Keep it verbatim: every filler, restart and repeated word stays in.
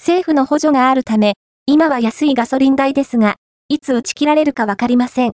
政府の補助があるため、今は安いガソリン代ですが、いつ打ち切られるかわかりません。